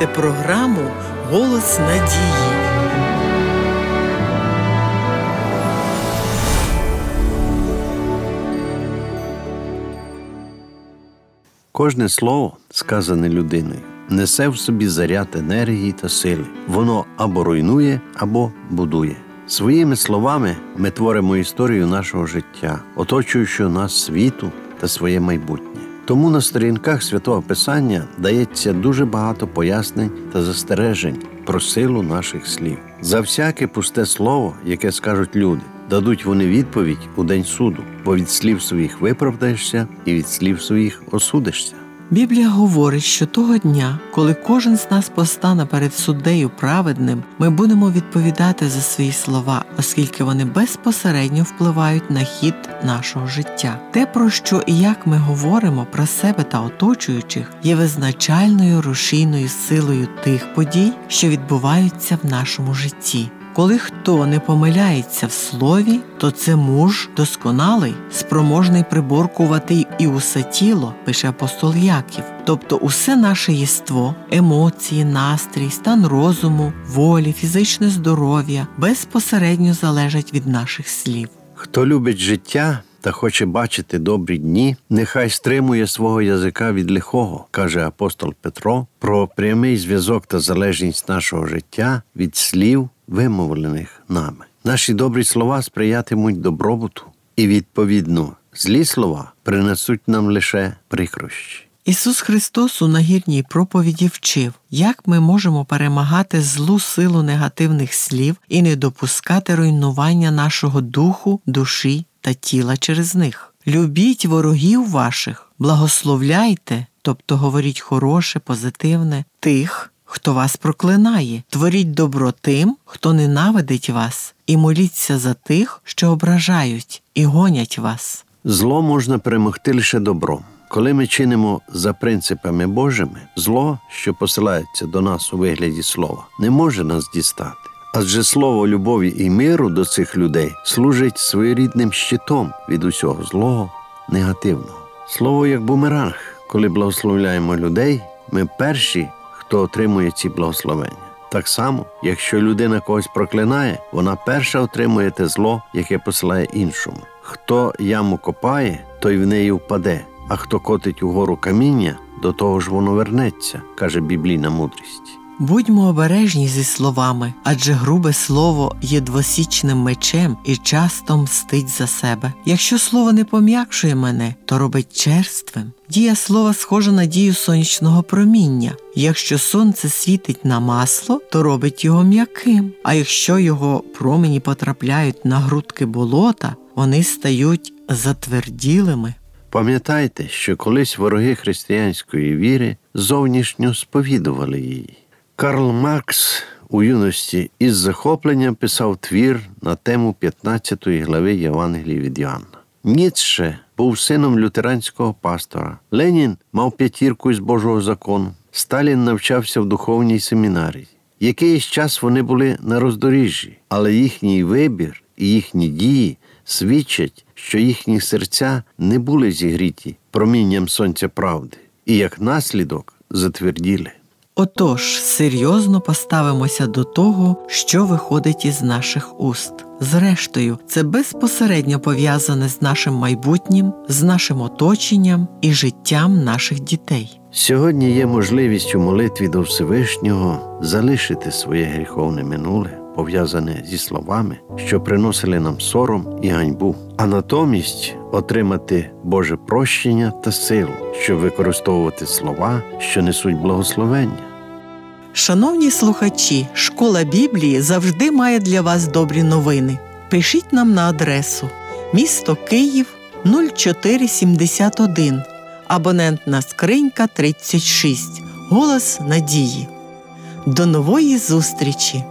програму «Голос надії». Кожне слово, сказане людиною, несе в собі заряд енергії та сили. Воно або руйнує, або будує. Своїми словами ми творимо історію нашого життя, оточуючого нас світу та своє майбутнє. Тому на сторінках Святого Писання дається дуже багато пояснень та застережень про силу наших слів. За всяке пусте слово, яке скажуть люди, дадуть вони відповідь у день суду, бо від слів своїх виправдаєшся і від слів своїх осудишся. Біблія говорить, що того дня, коли кожен з нас постане перед суддею праведним, ми будемо відповідати за свої слова, оскільки вони безпосередньо впливають на хід нашого життя. Те, про що і як ми говоримо про себе та оточуючих, є визначальною рушійною силою тих подій, що відбуваються в нашому житті. Коли хто не помиляється в слові, то це муж досконалий, спроможний приборкувати і усе тіло, пише апостол Яків. Тобто усе наше єство, емоції, настрій, стан розуму, волі, фізичне здоров'я безпосередньо залежать від наших слів. Хто любить життя та хоче бачити добрі дні, нехай стримує свого язика від лихого, каже апостол Петро, про прямий зв'язок та залежність нашого життя від слів, вимовлених нами. Наші добрі слова сприятимуть добробуту і, відповідно, злі слова принесуть нам лише прикрощі. Ісус Христос у нагірній проповіді вчив, як ми можемо перемагати злу силу негативних слів і не допускати руйнування нашого духу, душі та тіла через них. Любіть ворогів ваших, благословляйте, тобто говоріть хороше, позитивне, тих, хто вас проклинає. Творіть добро тим, хто ненавидить вас, і моліться за тих, що ображають і гонять вас. Зло можна перемогти лише добром. Коли ми чинимо за принципами Божими, зло, що посилається до нас у вигляді слова, не може нас дістати. Адже слово любові і миру до цих людей служить своєрідним щитом від усього злого, негативного. Слово як бумеранг. Коли благословляємо людей, ми перші, хто отримує ці благословення. Так само, якщо людина когось проклинає, вона перша отримує те зло, яке посилає іншому. Хто яму копає, той в неї впаде, а хто котить угору каміння, до того ж воно вернеться, каже біблійна мудрість. Будьмо обережні зі словами, адже грубе слово є двосічним мечем і часто мстить за себе. Якщо слово не пом'якшує мене, то робить черствим. Дія слова схожа на дію сонячного проміння. Якщо сонце світить на масло, то робить його м'яким. А якщо його промені потрапляють на грудки болота, вони стають затверділими. Пам'ятайте, що колись вороги християнської віри зовнішньо сповідували її. Карл Маркс у юності із захопленням писав твір на тему 15 глави Євангелії від Йоанна. Ніцше був сином лютеранського пастора. Ленін мав 5 із Божого закону. Сталін навчався в духовній семінарії. Якийсь час вони були на роздоріжжі, але їхній вибір і їхні дії свідчать, що їхні серця не були зігріті промінням сонця правди і, як наслідок, затверділи. Отож, серйозно поставимося до того, що виходить із наших уст. Зрештою, це безпосередньо пов'язане з нашим майбутнім, з нашим оточенням і життям наших дітей. Сьогодні є можливість у молитві до Всевишнього залишити своє гріховне минуле, пов'язане зі словами, що приносили нам сором і ганьбу, а натомість отримати Боже прощення та силу, щоб використовувати слова, що несуть благословення. Шановні слухачі, Школа Біблії завжди має для вас добрі новини. Пишіть нам на адресу місто Київ, 0471, абонентна скринька 36, Голос надії. До нової зустрічі!